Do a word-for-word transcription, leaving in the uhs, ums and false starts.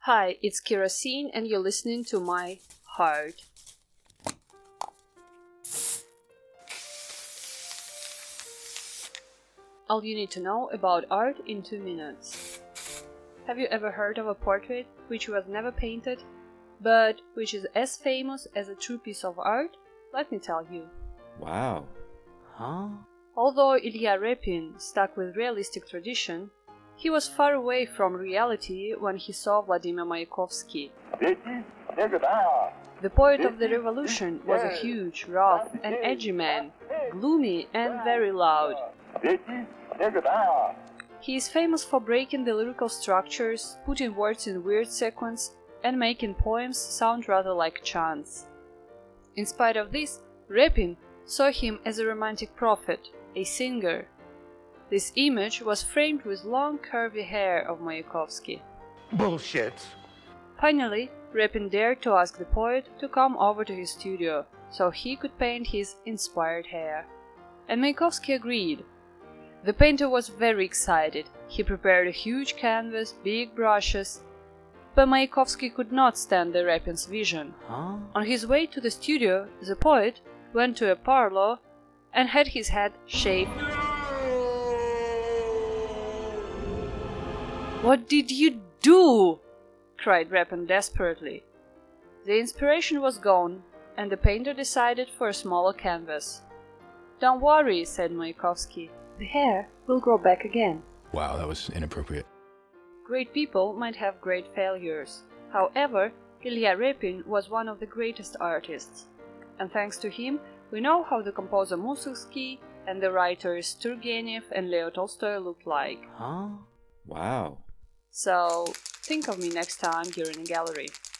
Hi, it's Kerosene and you're listening to my heart. All you need to know about art in two minutes. Have you ever heard of a portrait which was never painted, but which is as famous as a true piece of art? Let me tell you. Wow. Huh? Although Ilya Repin stuck with realistic tradition, he was far away from reality when he saw Vladimir Mayakovsky. The poet of the revolution was a huge, rough and edgy man, gloomy and very loud. He is famous for breaking the lyrical structures, putting words in weird sequence, and making poems sound rather like chants. In spite of this, Repin saw him as a romantic prophet, a singer. This image was framed with long curvy hair of Mayakovsky. Bullshit. Finally, Repin dared to ask the poet to come over to his studio so he could paint his inspired hair. And Mayakovsky agreed. The painter was very excited. He prepared a huge canvas, big brushes, but Mayakovsky could not stand the Repin's vision. Huh? On his way to the studio, the poet went to a parlor and had his head shaved. "What did you do?" cried Repin desperately. The inspiration was gone, and the painter decided for a smaller canvas. "Don't worry," said Mayakovsky. "The hair will grow back again." Wow, that was inappropriate. Great people might have great failures. However, Ilya Repin was one of the greatest artists. And thanks to him, we know how the composer Mussorgsky and the writers Turgenev and Leo Tolstoy looked like. Huh? Wow. So, think of me next time you're in a gallery.